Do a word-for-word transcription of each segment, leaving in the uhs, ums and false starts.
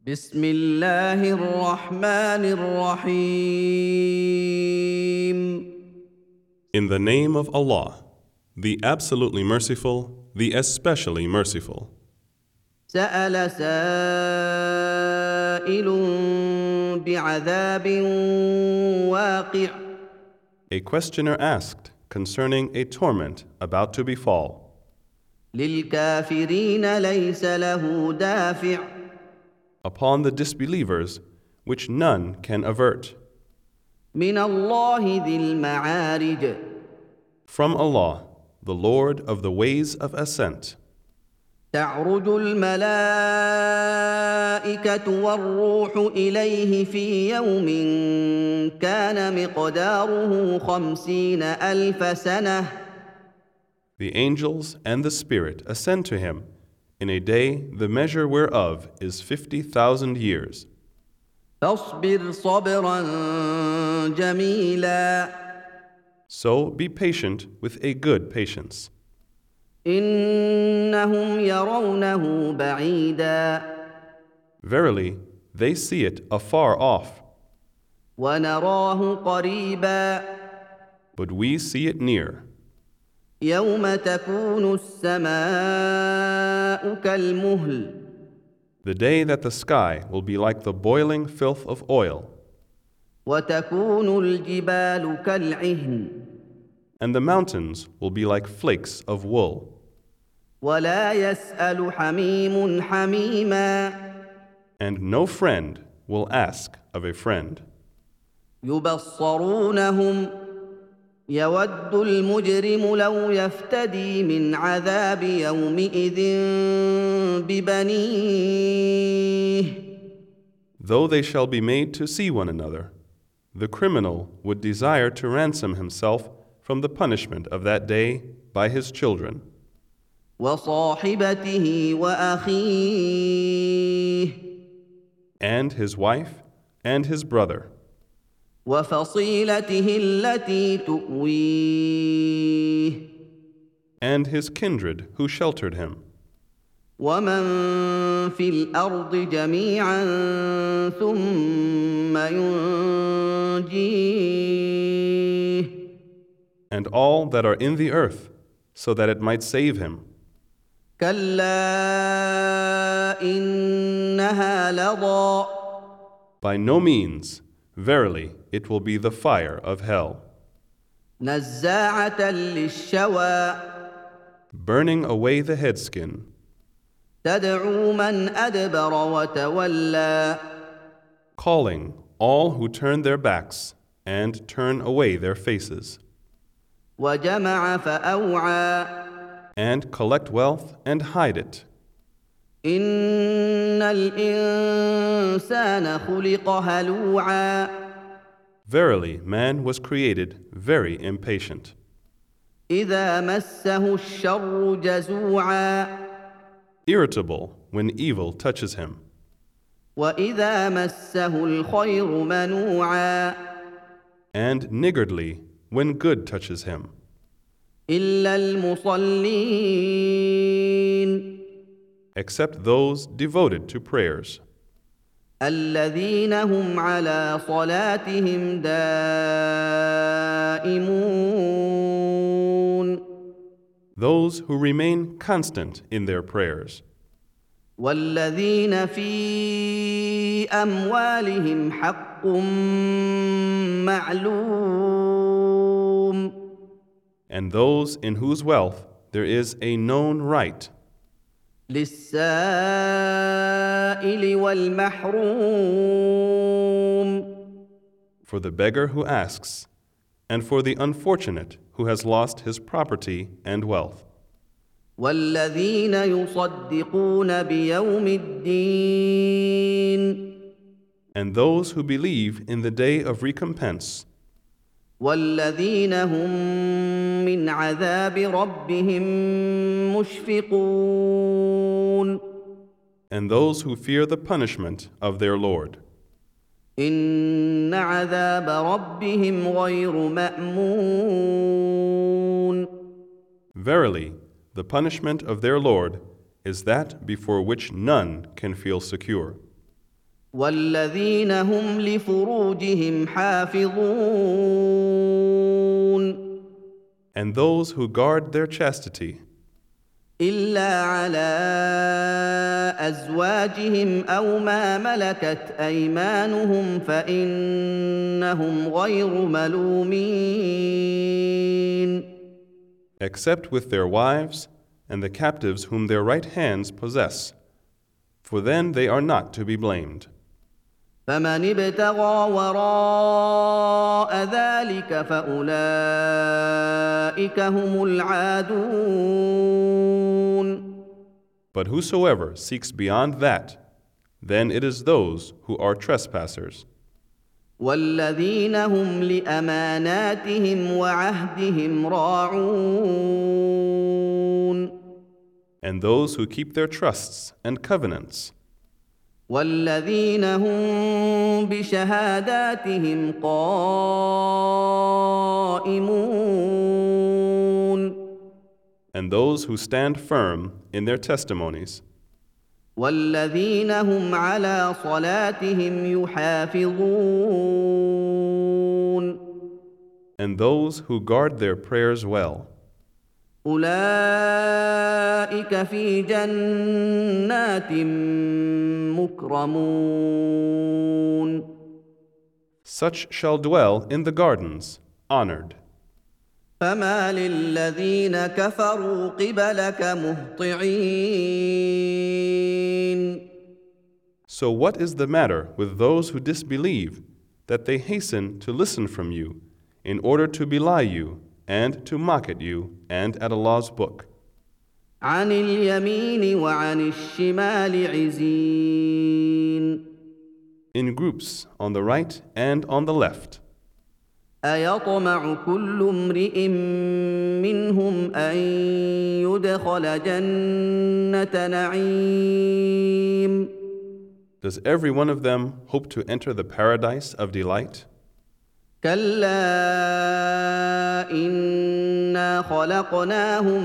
بسم الله الرحمن الرحيم. In the name of Allah, the absolutely merciful, the especially merciful. سأل سائل بعذاب واقع. A questioner asked concerning a torment about to befall. للكافرين ليس له دافع. Upon the disbelievers, which none can avert. من الله ذي المعارج. From Allah, the Lord of the ways of ascent. تعرج الملائكة والروح إليه في يوم كان مقداره خمسين ألف سنة. The angels and the Spirit ascend to him in a day the measure whereof is fifty thousand years. فاصبر صبرا جميلا. So be patient with a good patience. إنهم يرونه بعيدا. Verily, they see it afar off, ونراه قريبا. but we see it near. يوم تكون السماء كالمهل. The day that the sky will be like the boiling filth of oil, وتكون الجبال كالعهن. and the mountains will be like flakes of wool. ولا يسأل حميم حميما. And no friend will ask of a friend. يبصرونهم. يود المجرم لو يفتدي من عذاب يومئذ ببنيه. Though they shall be made to see one another, the criminal would desire to ransom himself from the punishment of that day by his children, وصاحبته وأخيه. and his wife and his brother, وفصيلته التي تؤويه. and his kindred who sheltered him, ومن في الأرض جميعا ثم ينجيه. and all that are in the earth, so that it might save him. كلا إنها لظى. By no means, verily, it will be the fire of hell, نزاعة للشوى. burning away the headskin, تدعو من أدبر وتولى. calling all who turn their backs and turn away their faces, وجمع فأوعى. and collect wealth and hide it. إن الإنسان خلق هلوعا. Verily, man was created very impatient, إذا مسه الشر جزوعا. irritable when evil touches him, وإذا مسه الخير منوعا. and niggardly when good touches him, إلا المصلين. except those devoted to prayers, الذين هم على صلاتهم دائمون. those who remain constant in their prayers, والذين في أموالهم حق معلوم. and those in whose wealth there is a known right, للسائل والمحروم. for the beggar who asks, and for the unfortunate who has lost his property and wealth, والذين يصدقون بيوم الدين. and those who believe in the day of recompense, والذين هم من عذاب ربهم مشفقون. and those who fear the punishment of their Lord. إن عذاب ربهم غير مأمون. Verily, the punishment of their Lord is that before which none can feel secure. والذين هم لفروجهم حافظون And those who guard their chastity, إلا على أزواجهم أو ما ملكت أيمانهم فإنهم غير ملومين except with their wives and the captives whom their right hands possess, for then they are not to be blamed. فمن ابتغى وراء ذلك فأولئك هم العادون But whosoever seeks beyond that, then it is those who are trespassers. والذين هم لأماناتهم وعهدهم راعون And those who keep their trusts and covenants, والذين هم بشهاداتهم قائمون and those who stand firm in their testimonies, والذين هم على صلاتهم يحافظون and those who guard their prayers well. أولئك في جنات مكرمون Such shall dwell in the gardens, honored. فما للذين كفروا قبلك مهطعين So what is the matter with those who disbelieve, that they hasten to listen from you, in order to belie you, and to mock at you, and at Allah's book? عن اليمين وعن الشمال عزين In groups, on the right and on the left. أيطمع كل امرئ منهم أن يدخل جنة نعيم Does every one of them hope to enter the paradise of delight? كلا إنا خلقناهم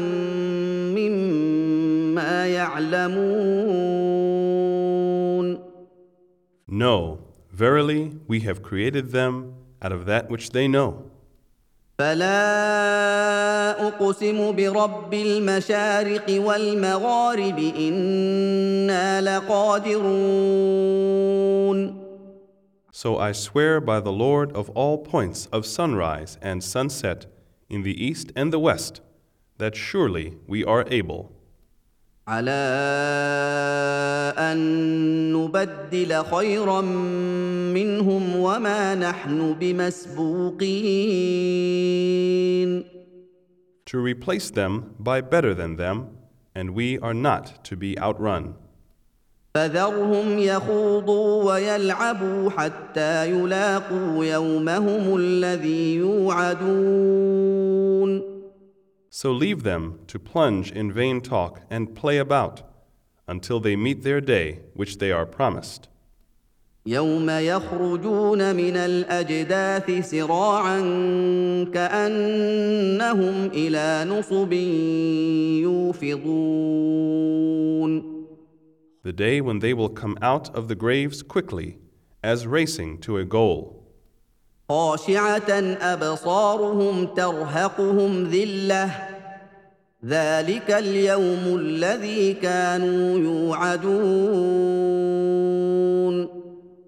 مما يعلمون No, verily we have created them out of that which they know. فلا أقسم برب المشارق والمغارب إنا لقادرون So I swear by the Lord of all points of sunrise and sunset in the east and the west, that surely we are able. على أن نبدل خيرا منهم وما نحن بمسبوقين To replace them by better than them, and we are not to be outrun. فذرهم يخوضوا ويلعبوا حتى يلاقوا يومهم الذي يوعدون So leave them to plunge in vain talk and play about, until they meet their day which they are promised. يوم يخرجون من الأجداث سراعا كأنهم إلى نصب يوفضون The day when they will come out of the graves quickly, as racing to a goal. خاشعة أبصارهم ترهقهم ذلة ذلك اليوم الذي كانوا يوعدون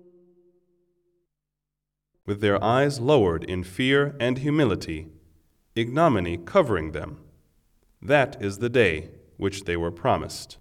With their eyes lowered in fear and humility, ignominy covering them. That is the day which they were promised.